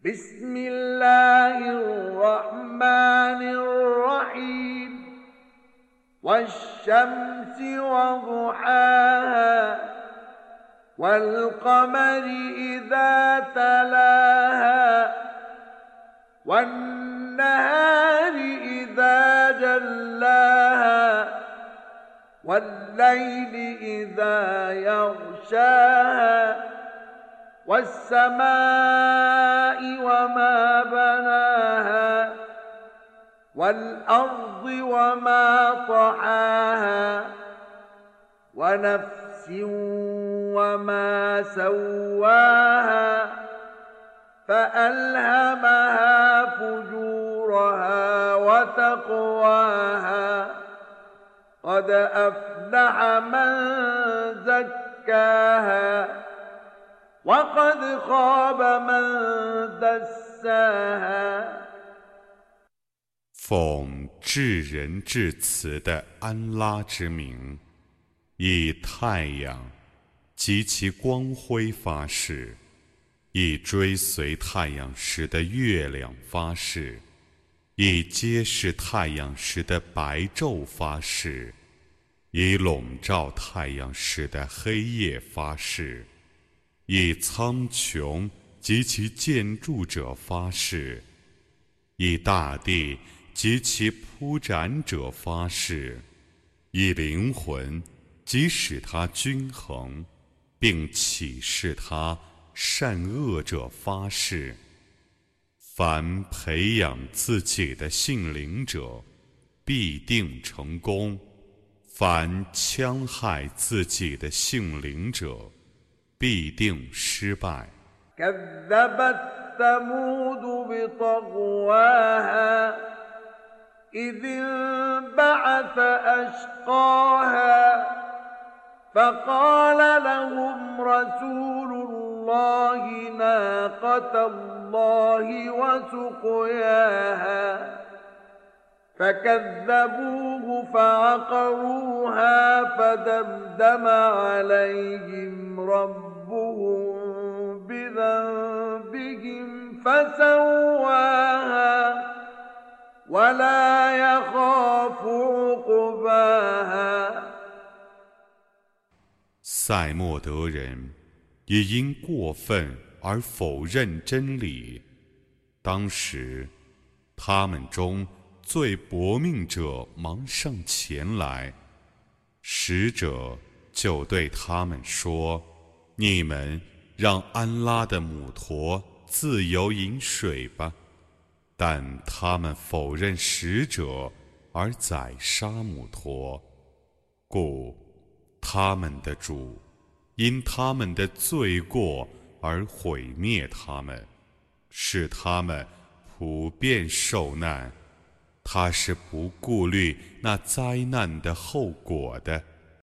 بسم الله الرحمن الرحيم والشمس وضحاها والقمر إذا تلاها والنهار إذا جلاها والليل إذا يغشاها والسماء وما بناها والأرض وما طحاها ونفس وما سواها فألهمها فجورها وتقواها قد أفلح من زكاها وقد خاب من دساها 奉至仁至慈的安拉之名，以太阳及其光辉发誓，以追随太阳时的月亮发誓，以揭示太阳时的白昼发誓，以笼罩太阳时的黑夜发誓，以苍穹及其建筑者发誓，以大地及其铺展者发誓，以灵魂即使它均衡，并启示它善恶者发誓。凡培养自己的性灵者，必定成功；凡戕害自己的性灵者，必定失败。 كذبت ثمود بطغواها إذ انبعث أشقاها فقال لهم رسول الله ناقة الله وسقياها فكذبوه فعقروها فدمدم عليهم ربهم بذنبهم فسواها ولا يخاف عقباها 塞莫德人也因过分而否认真理，当时他们中最薄命者忙上前来，使者就对他们说：你们让安拉的母驼自由饮水吧。但他们否认使者而宰杀母驼，故他们的主因他们的罪过而毁灭他们，使他们普遍受难。他是不顾虑那灾难的后果的。